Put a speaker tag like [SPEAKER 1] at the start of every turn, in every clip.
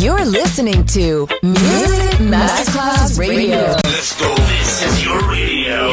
[SPEAKER 1] You're listening to Music Masterclass Radio.
[SPEAKER 2] Let's go. This is your radio.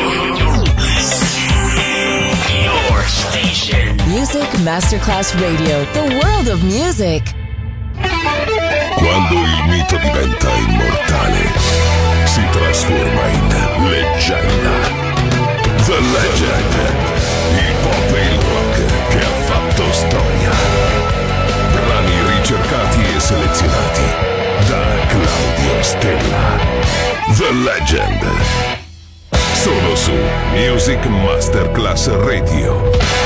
[SPEAKER 2] Your station.
[SPEAKER 1] Music Masterclass Radio. The world of music.
[SPEAKER 3] Quando il mito diventa immortale, si trasforma in leggenda. The Legend. Il pop e il rock che ha fatto storia. Brani ricercati e selezionati da Claudio Stella. The Legend. Solo su Music Masterclass Radio.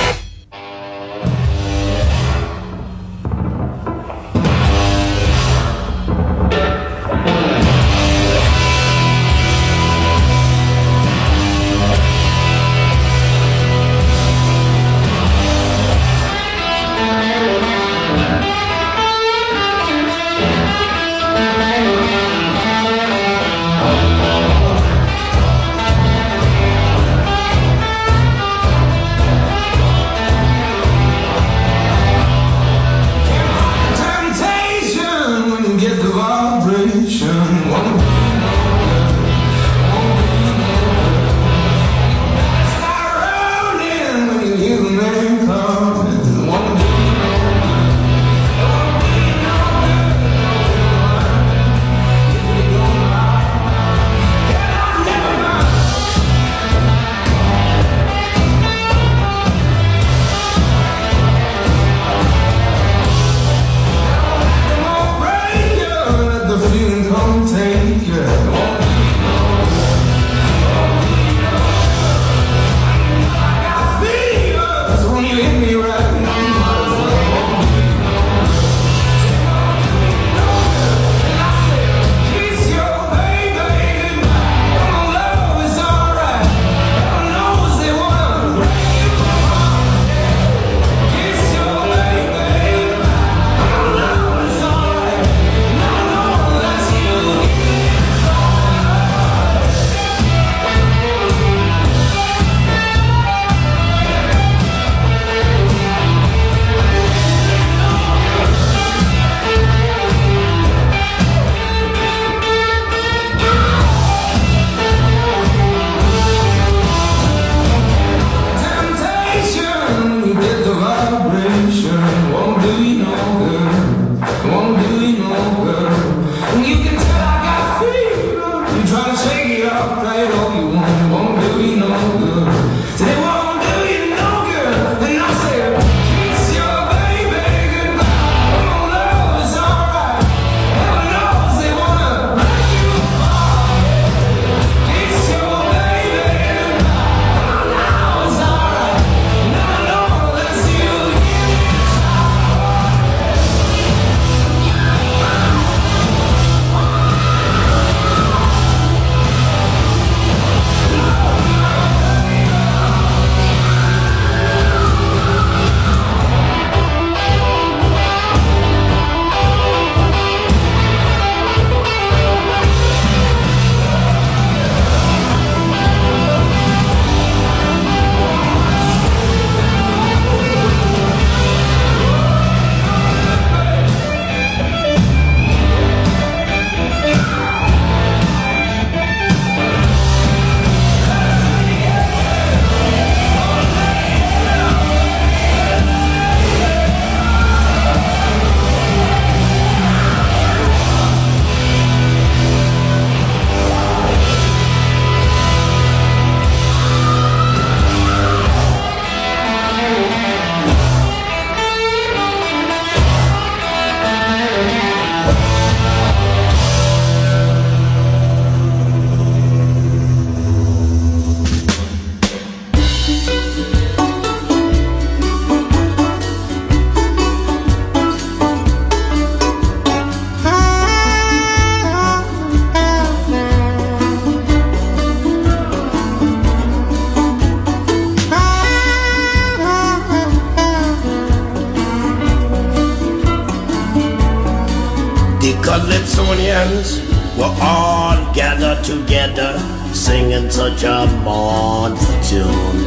[SPEAKER 4] Calypsonians were all gathered together, singing such a mournful tune.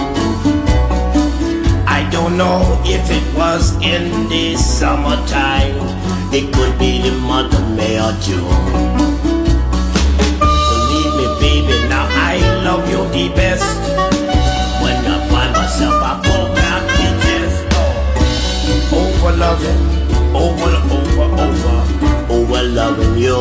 [SPEAKER 4] I don't know if it was in the summertime, it could be the month or June. Believe me, baby, now I love you the best. When I find myself, I pull out the chest. Over loving, over loving you.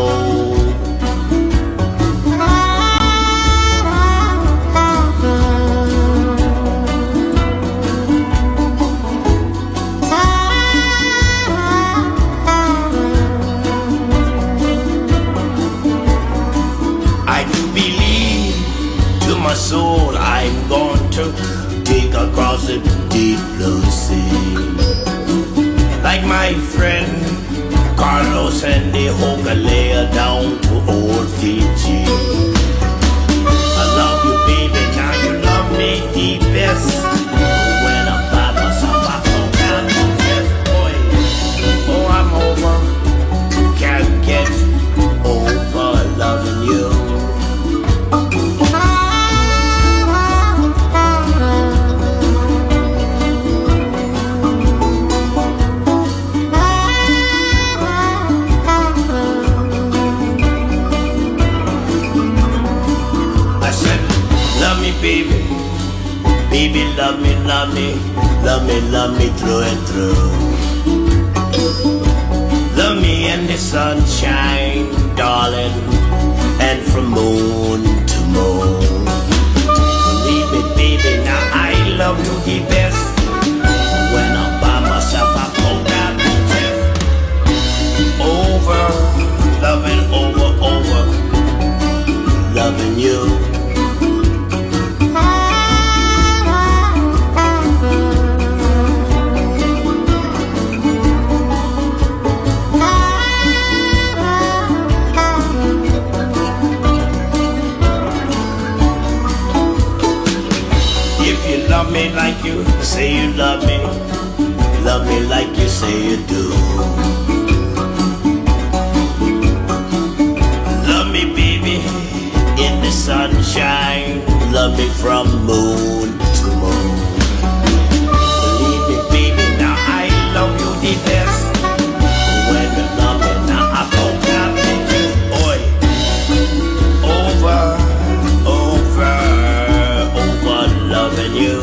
[SPEAKER 4] My soul, I'm going to take across the deep blue sea. Like my friend Carlos and the Hogalea down to old Fiji. I love you, baby, now you love me the best. When I'm by myself, I fall down the chest, boy. Oh, I'm over, can't get over loving you. Baby, baby, love me, love me, love me, love me through and through. Love me in the sunshine, darling, and from moon to moon. Believe me, baby, now I love you the best. When I'm by myself, I pull down the chest. Over, loving, over, loving you. Love me like you say you love me like you say you do. Love me, baby, in the sunshine. Love me from moon to moon. Believe me, baby, now I love you the best. When you love me, now I don't have to just, boy, over loving you.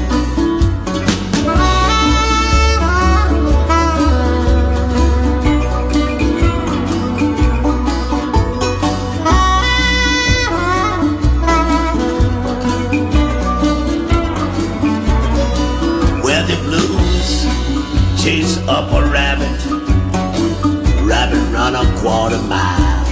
[SPEAKER 4] Where the blues chase up a rabbit run a quarter mile.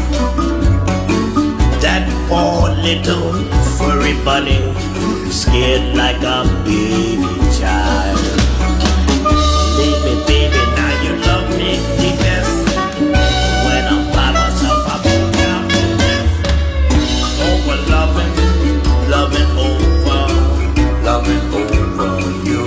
[SPEAKER 4] That poor little furry bunny scared like a baby child. Leave me, baby, now you love me the best. When I'm by myself, I pull down the chest. Over loving, loving over you.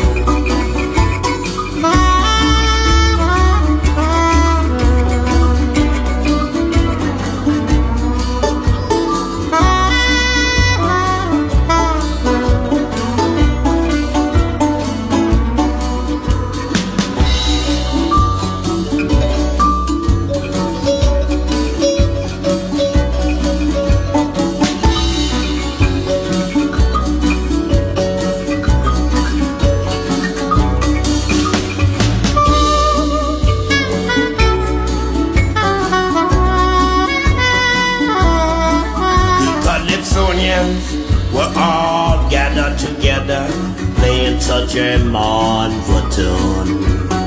[SPEAKER 4] We're all gathered together, playing such a mournful tune.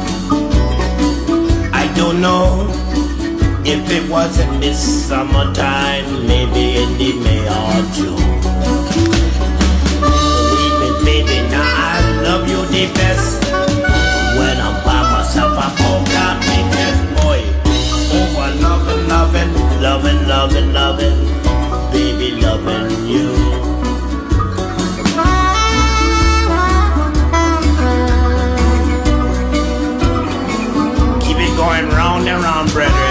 [SPEAKER 4] I don't know if it was in this summertime, maybe in the May or June. Believe me, baby, now I love you the best. When I'm by myself, I poke out my chest, boy. Over loving, baby, loving you. Going round and round, brethren.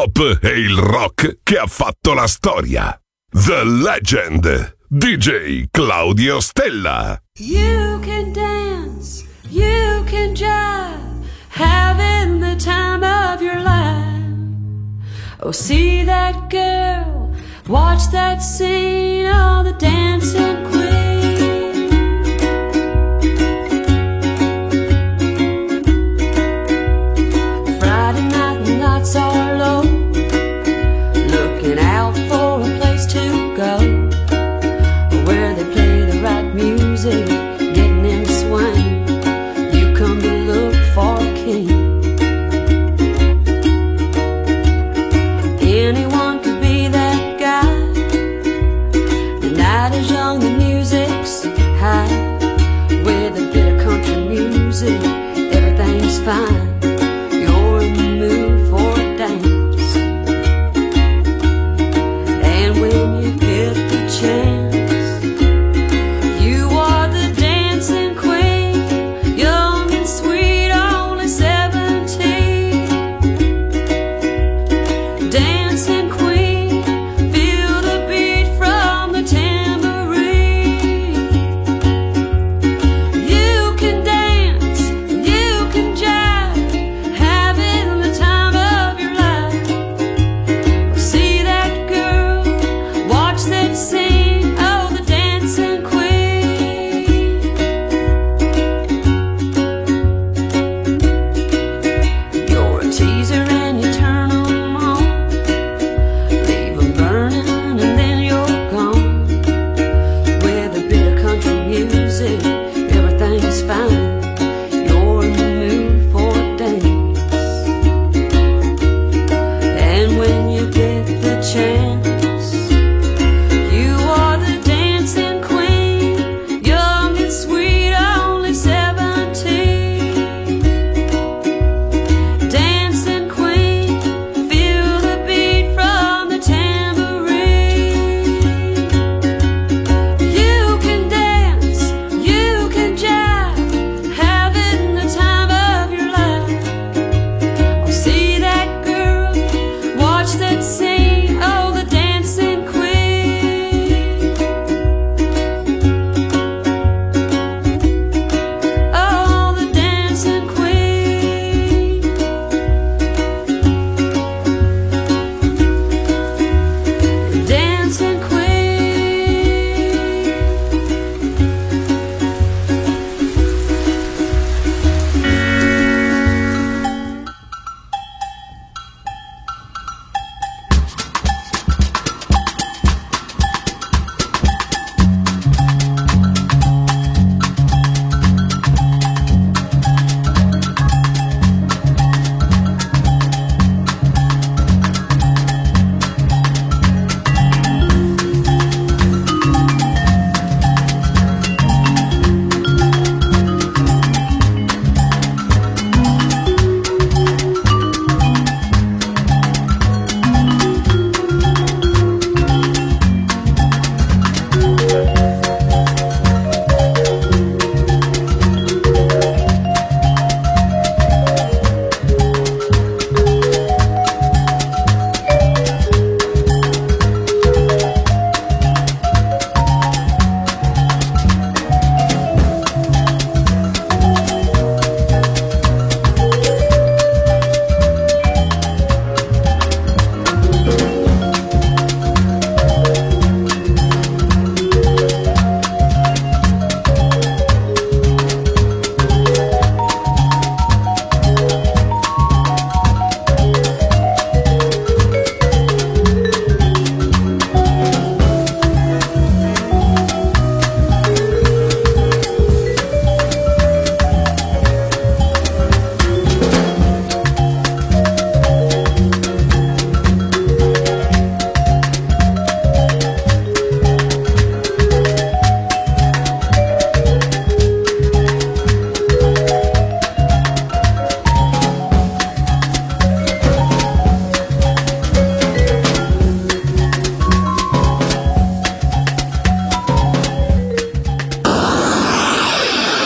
[SPEAKER 3] pop e il rock che ha fatto la storia. The Legend, DJ Claudio Stella.
[SPEAKER 5] You can dance, you can jive, having the time of your life. Oh, see that girl, watch that scene, oh, the dancing queen. Friday night, the lights are low, looking out for a place to go, where they play the right music, getting in the swing. You come to look for a king. Anyone could be that guy. The night is young, the music's high. With a bit of country music, everything's fine. You're in the mood for a dance. And when you get the chance, you are the dancing queen, young and sweet, only 17. Dancing queen, feel the beat from the tambourine. You can dance, you can jive, having the time of your life. See that girl, watch that scene, oh, the dancing queen. You're a teaser and you turn 'em on, leave 'em burning and then you're gone. With a bit of country music, everything's fine. You're in the mood for a dance. And when you get the chance, you are the dancing queen, young and sweet, only 17. Dancing queen, feel the beat from the tambourine. You can dance, you can jive, having the time of your life. Oh, see that girl, watch that scene, oh, the dancing queen. Oh, the dancing queen. Dancing queen.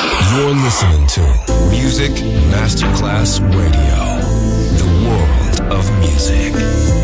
[SPEAKER 6] You're listening to Music Masterclass Radio. The world of music.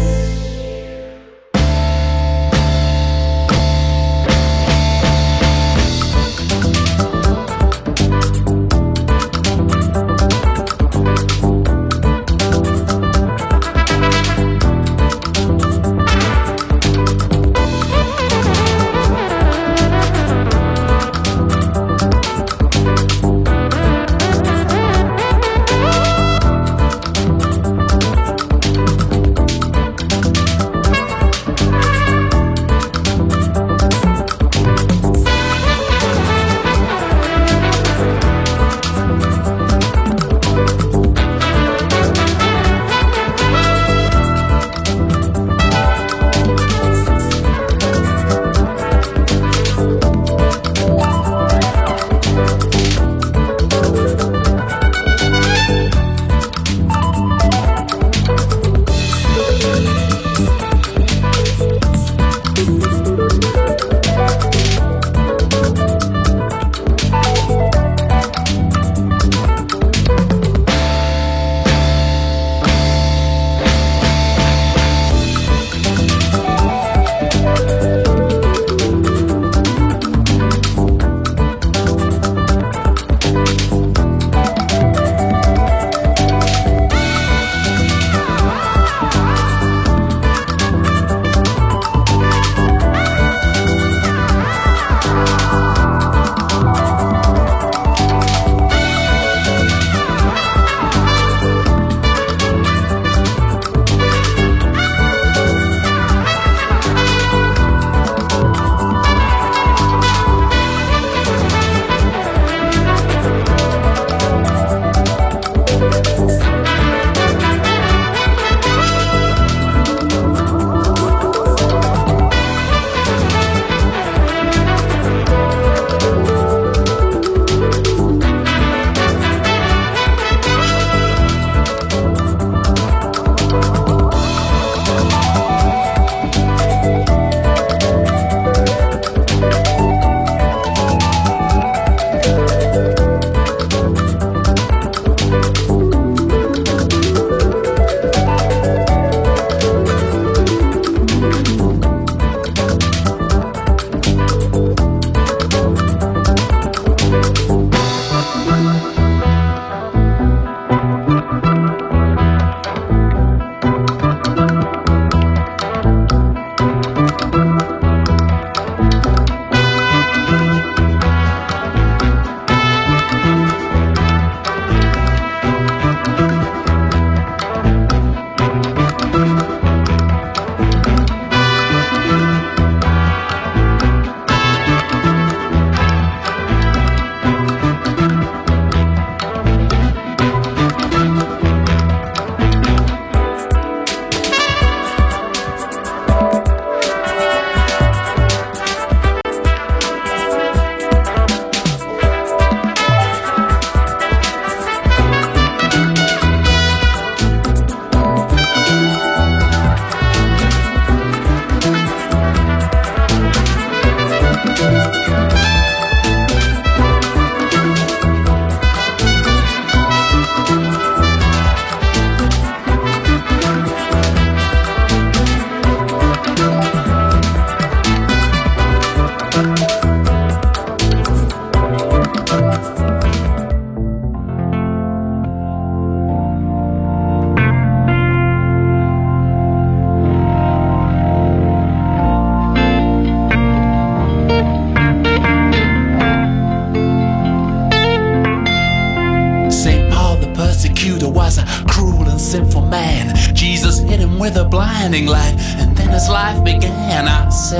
[SPEAKER 7] with a blinding light, and then as life began, I said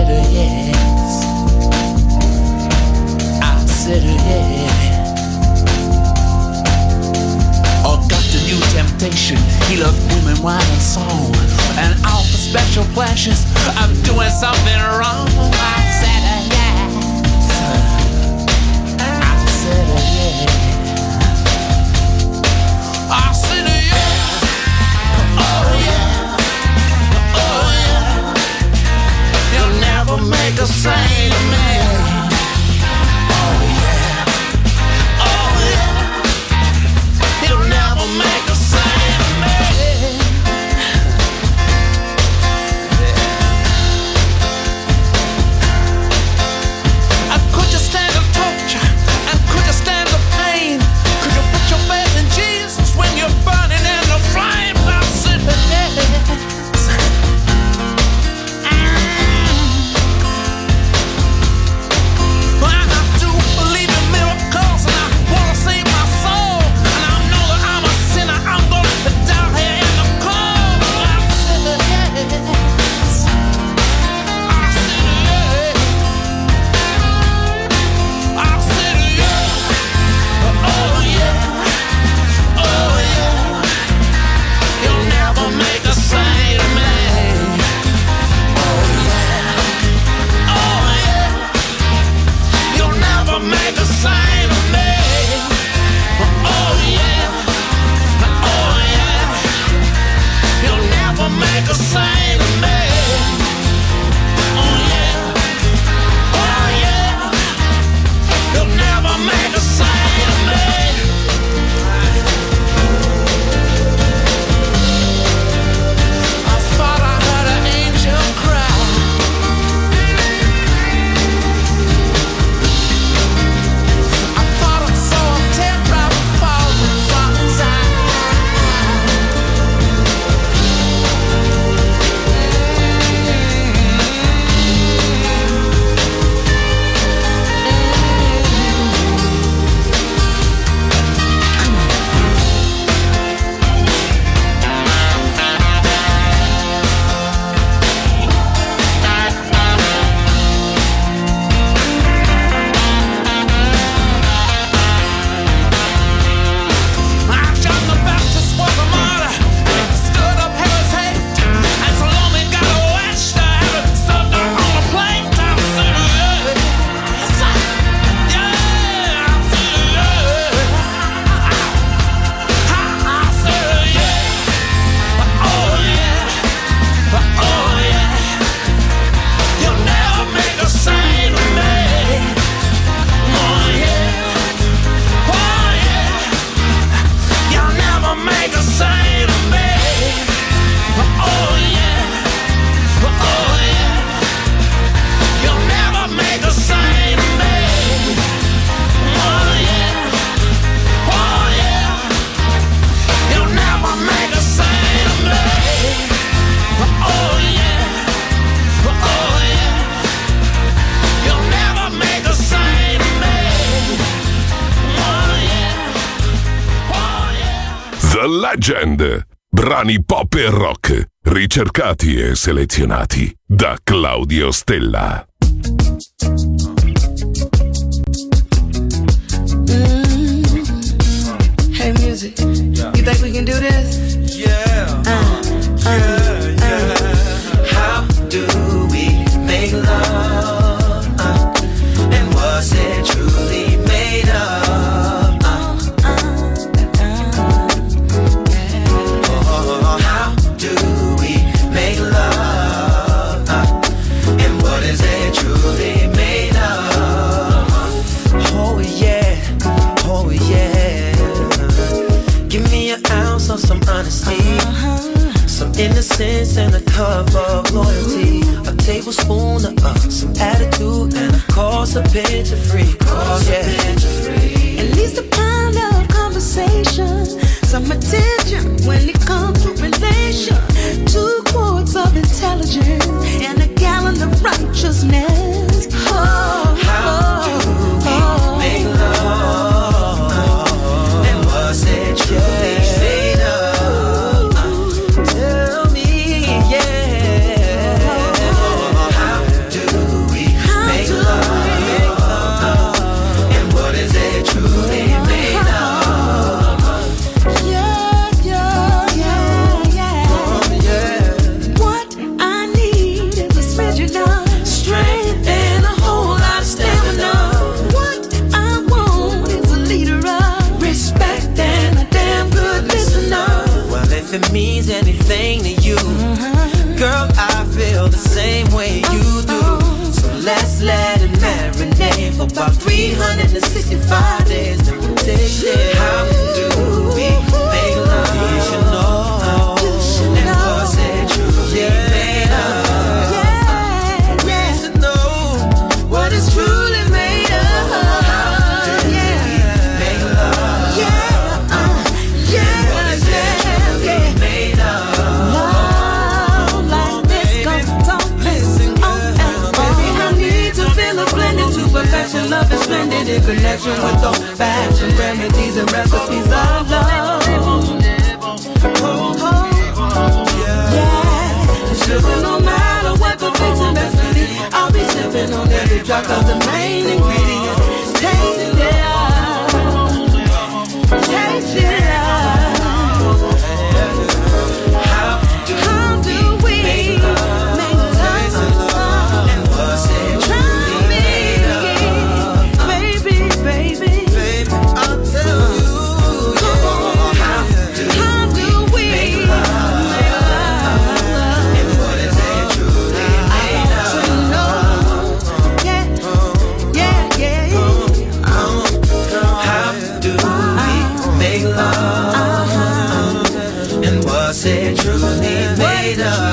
[SPEAKER 7] yes. I said yes. Augustus new temptation, he loved women, wine and song, and all for special pleasures of doing something wrong. I said yes. I said yes. I said yes. Oh yeah. Oh yeah. You'll never make a saint of me. Oh yeah. Oh yeah. You'll never make a saint of me.
[SPEAKER 3] The Legend. Brani pop e rock, ricercati e selezionati da Claudio Stella.
[SPEAKER 6] Hey music, you think we can do this?
[SPEAKER 4] Yeah. How do we make love? And was it truly made of? How do we make love? And what is it truly made of? Oh yeah, oh yeah. Give me an ounce of some honesty, some innocence and a cup of loyalty, a tablespoon of some attitude, and of course a pinch of free.
[SPEAKER 6] At least a pound of conversation, some attention when it comes to relation, 2 quarts of intelligence, and a gallon of righteousness.
[SPEAKER 4] How do we make love? And was it truly made of? Tell me, yeah. How do we make love? And what is it truly made of?
[SPEAKER 6] What I need is a smidgen of strength and a whole lot of stamina. What I want is a leader of respect and a damn good listener.
[SPEAKER 4] Well, if it means anything to you, girl, I feel the same way you do. So let's let it marinate for about 365 days. Then we'll take it. How do we make love? You should know. And was it truly made of? We should know what is truly made of. How do we make love? And what is it truly made of?
[SPEAKER 6] Love like this comes on.
[SPEAKER 4] Listen, girl,
[SPEAKER 6] Baby, I need to feel a blending to perfection. Love is splendid in connection with those fashion remedies and recipes of love. Yeah, sugar, no matter what the fix and best to be, I'll be sipping on every drop of the main ingredient. Taste it out. Taste it out. How do we make love?
[SPEAKER 4] and was it truly made of?
[SPEAKER 6] Baby.
[SPEAKER 4] I'll tell you,
[SPEAKER 6] How do we make love?
[SPEAKER 4] and what is it truly made of?
[SPEAKER 6] Yeah.
[SPEAKER 4] How do we make love? And was it truly made of?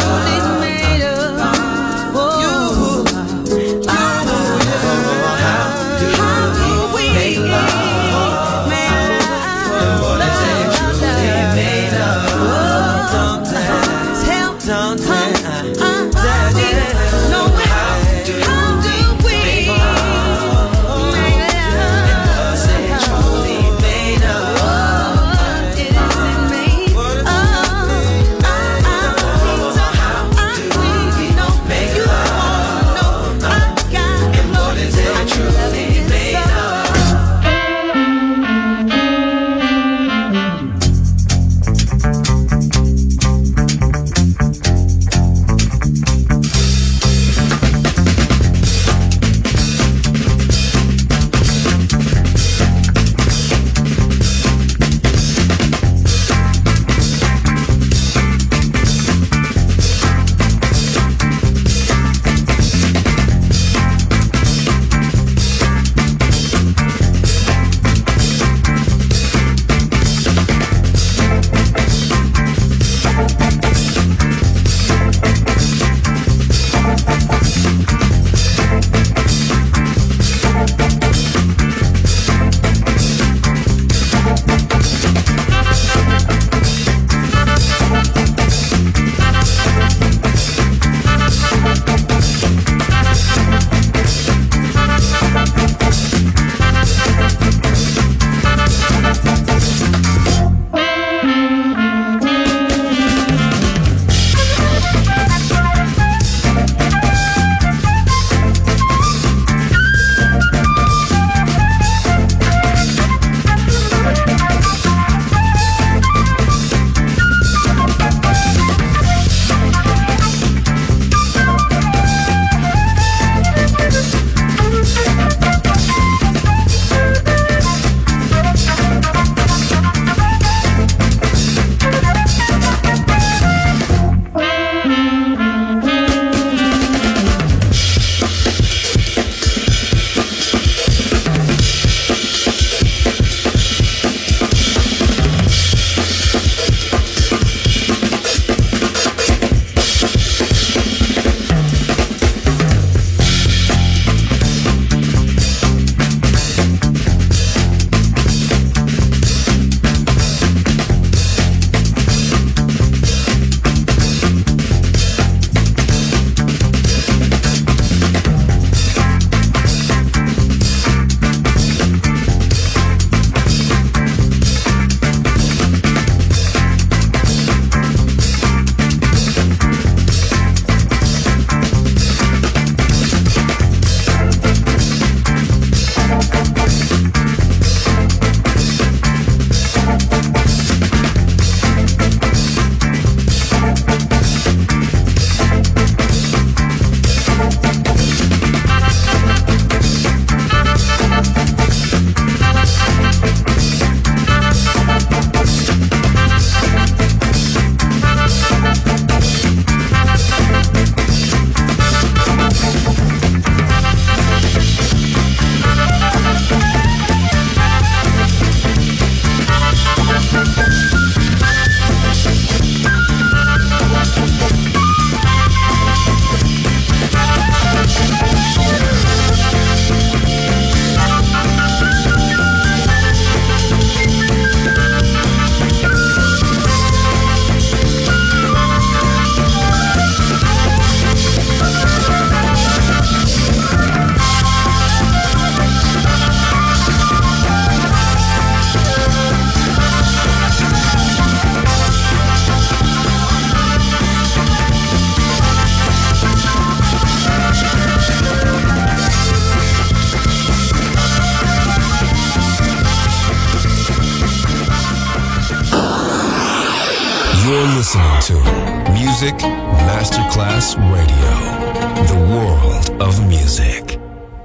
[SPEAKER 8] listening to Music Masterclass Radio, the world of music.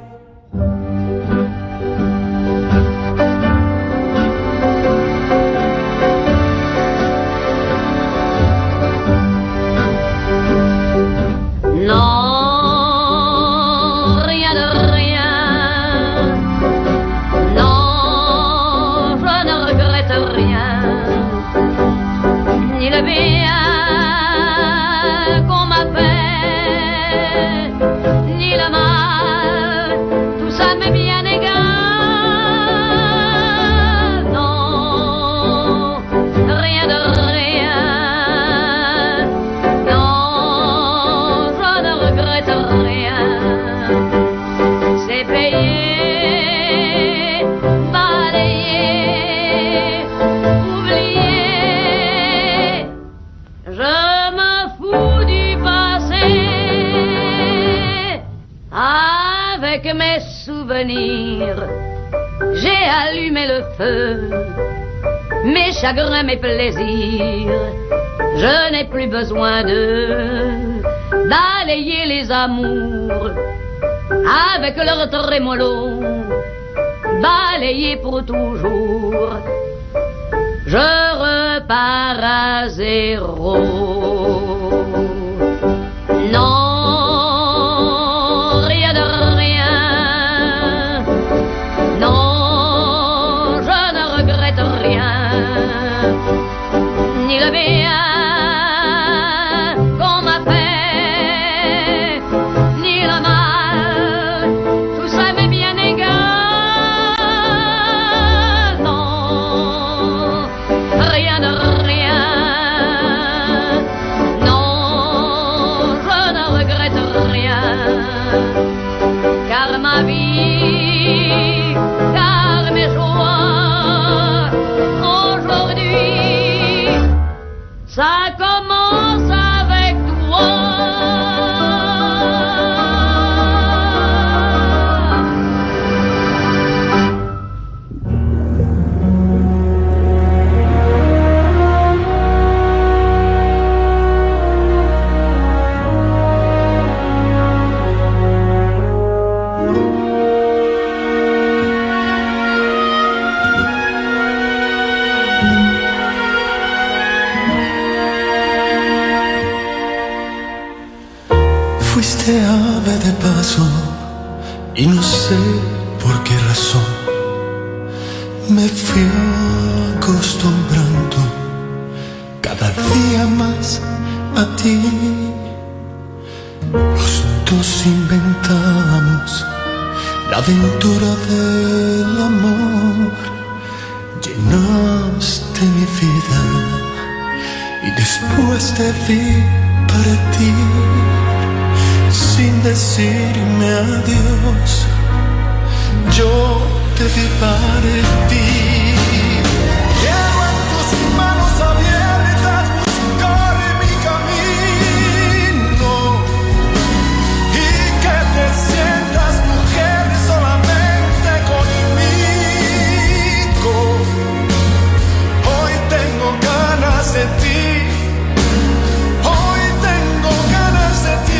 [SPEAKER 9] J'ai allumé le feu, mes chagrins, mes plaisirs. Je n'ai plus besoin d'alayer les amours avec leur trémolo, balayer pour toujours. Je repars à zéro. Non. Ni le bien qu'on m'a fait, ni le mal, tout ça m'est bien égal. Non, rien de rien. Non, je ne regrette rien. Car ma vie, car mes joies, aujourd'hui, ça commence avec toi.
[SPEAKER 10] Fuiste ave de paso y no sé por qué razón me fui acostumbrando cada día más a ti. Los dos inventamos la aventura del amor, llenaste mi vida y después te vi partir. Sin decirme adiós, yo te vi partir. Quiero en tus manos abiertas buscar mi camino y que te sientas mujer solamente conmigo. Hoy tengo ganas de ti. Hoy tengo ganas de ti.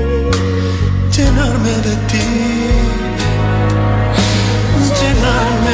[SPEAKER 6] Llenarme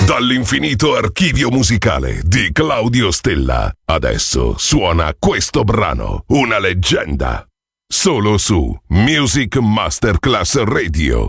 [SPEAKER 3] Dall'infinito archivio musicale di Claudio Stella, adesso suona questo brano, una leggenda, solo su Music Masterclass Radio.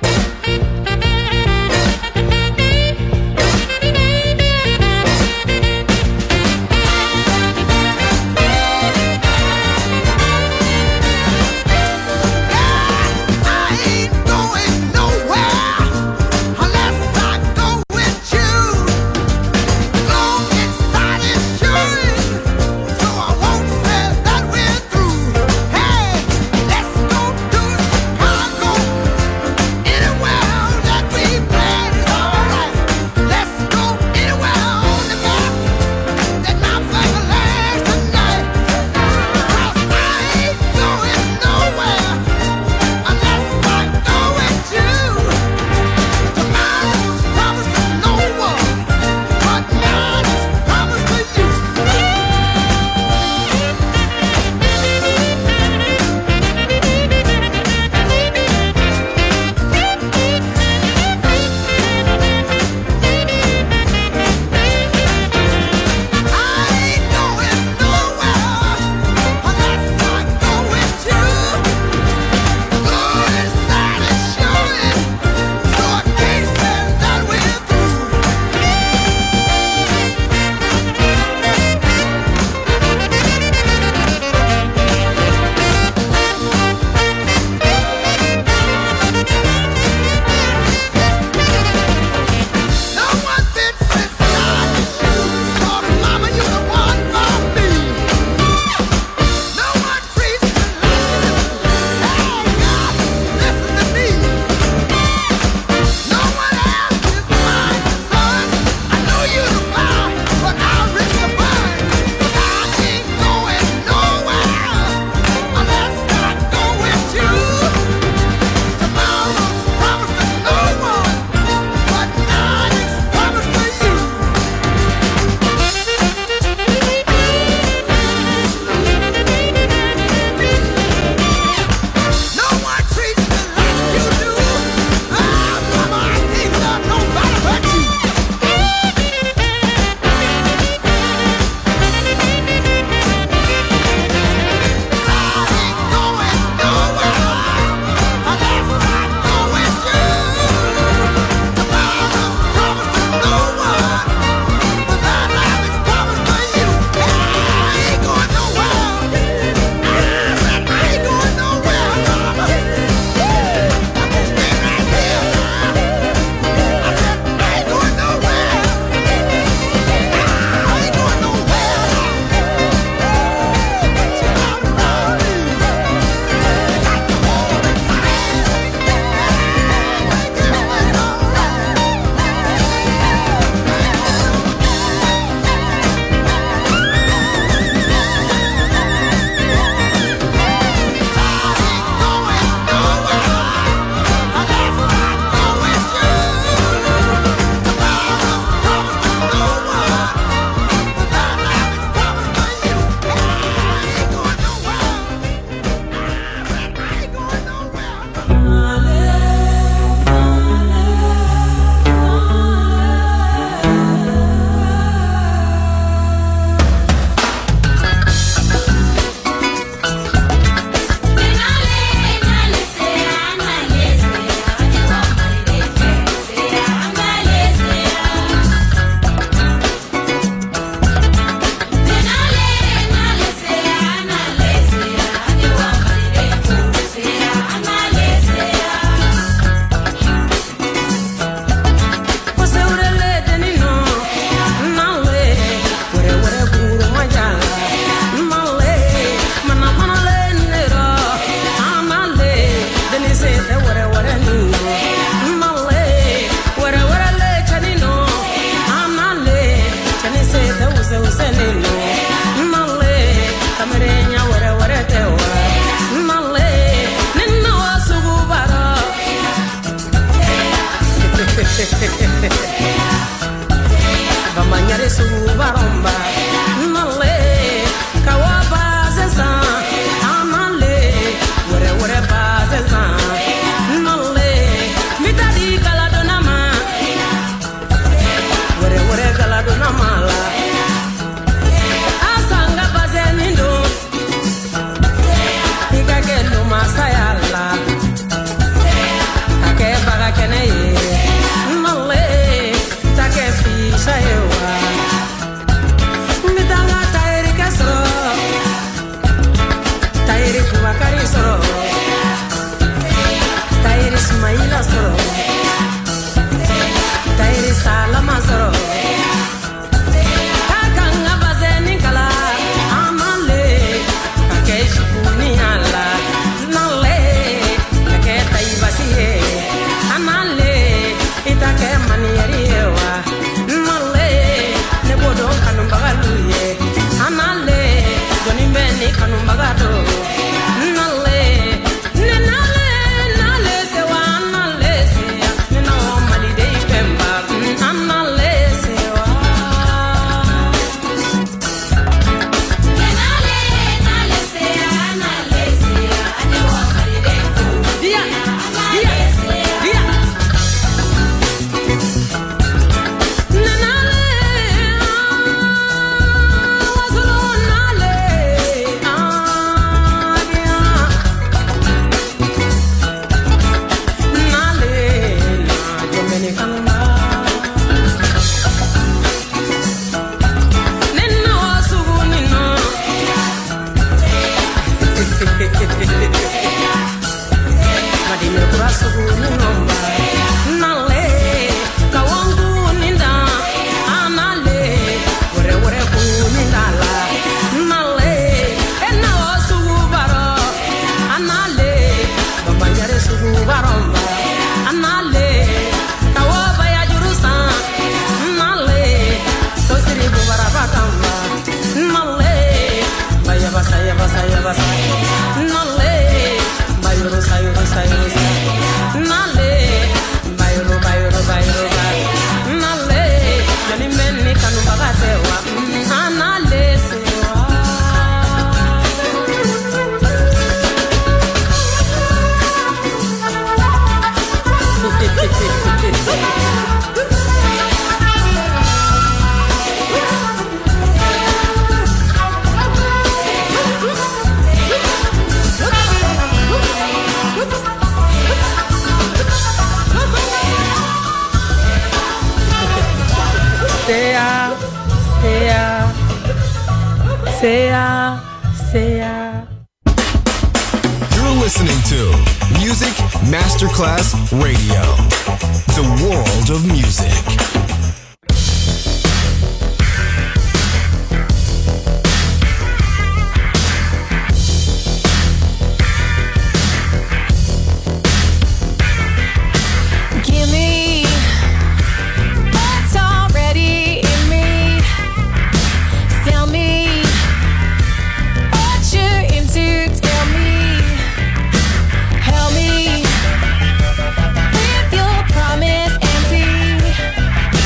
[SPEAKER 11] Va mangiare su baromba, male, kawaba zezan, amale, wore ba zezan, male, mitadi kaladonama, sala masoro kakanga bazeni kala amale kakeshi kuniala nale kaketa ibasiye amale itake manieriewa nale nebodo kanumbagaluye amale donimbeni kanumbagado nale nenale nale sewa nale seya nena malide ipemba amale sewa nenale nale seya anewa malide dia dia dia nenale wazulu nale nale na dominicana nena wasugu nina madime kurasugu ninomba nale kawangu ninda anale wore kunindala nale ena wasugu baro anale bambanyare sugu baromba anale kawaba ya jurusa nale tosiri bubara batamba nale baya basa nale bayuro sayo nale bayuro nale yani menni kanu bagatewa anale sewa Sea.
[SPEAKER 8] You're listening to Music Masterclass Radio, the world of music.
[SPEAKER 12] With your promise and see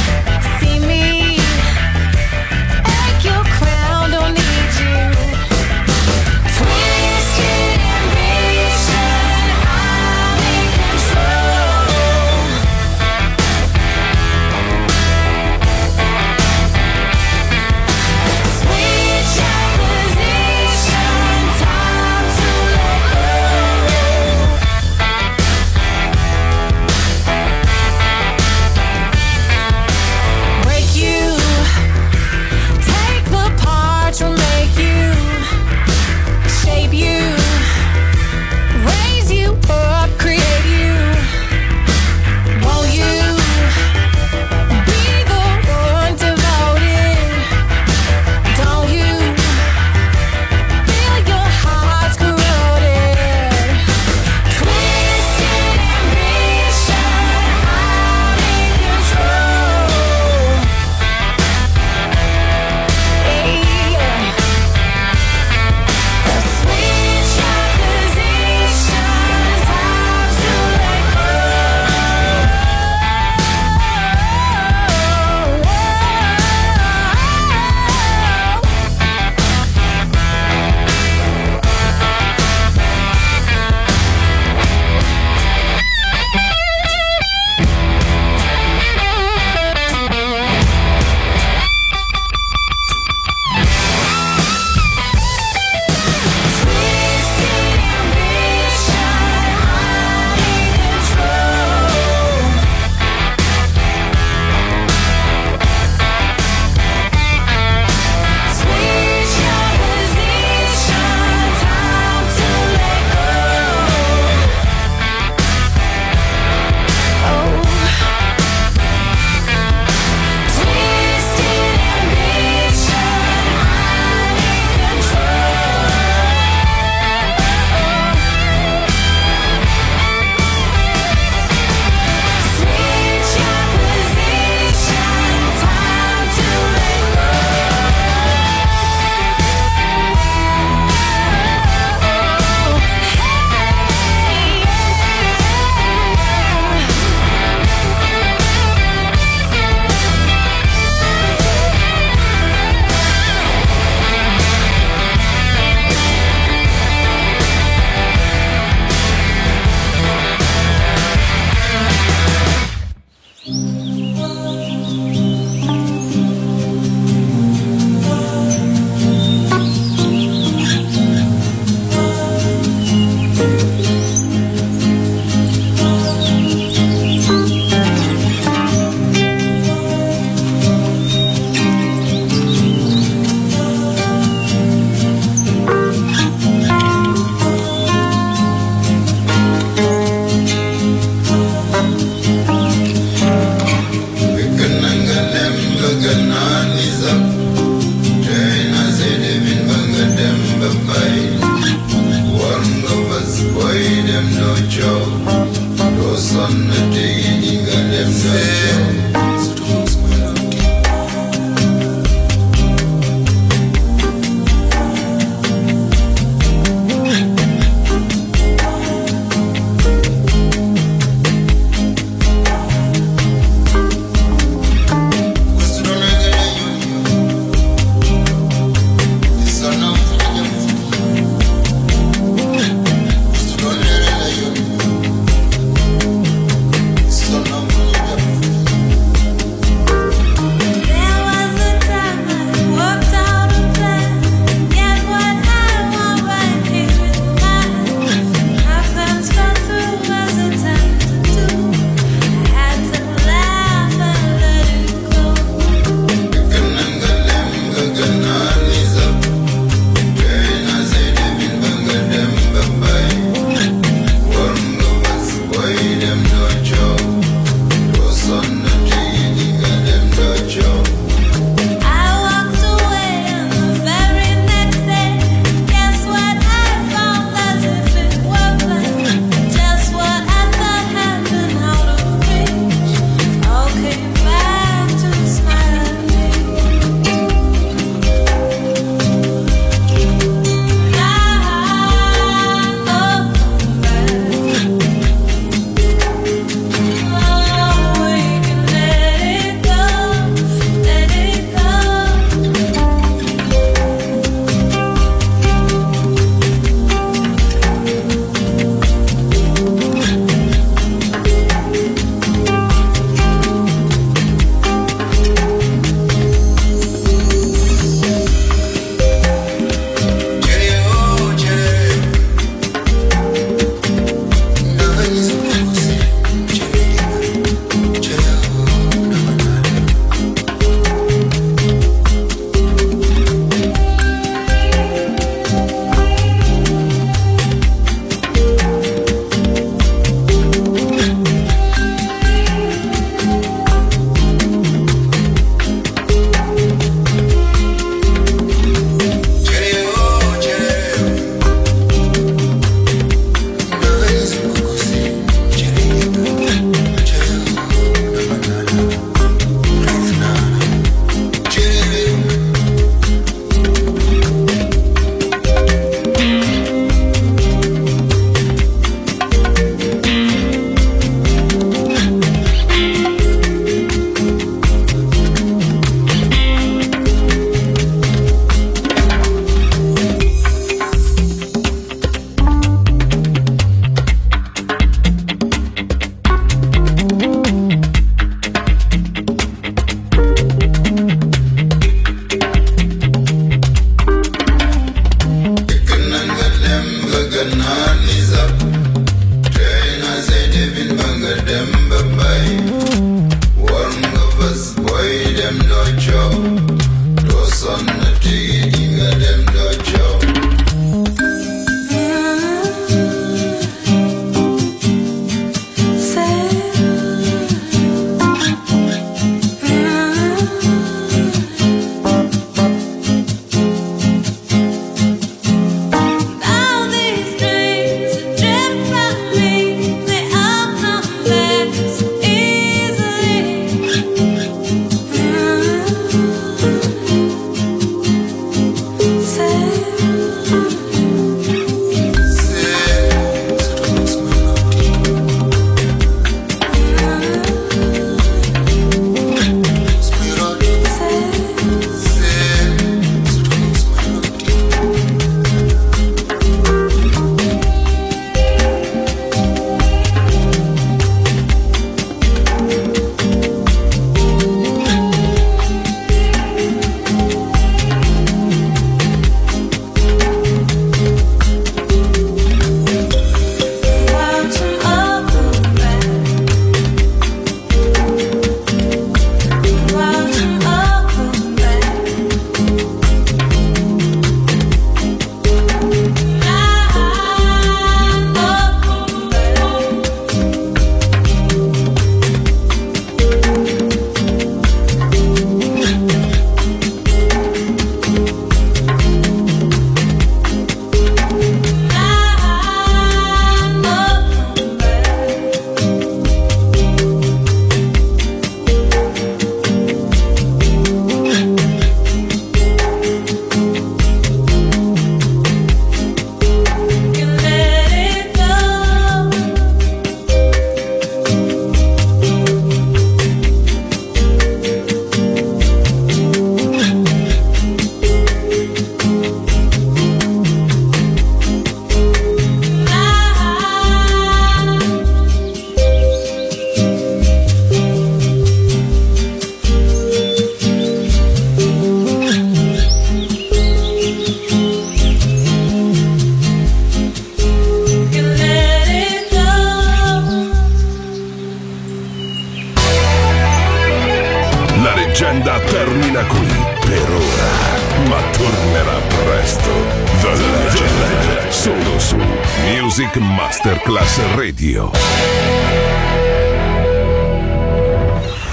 [SPEAKER 3] La leggenda termina qui per ora, ma tornerà presto. The Legend, solo su Music Masterclass Radio.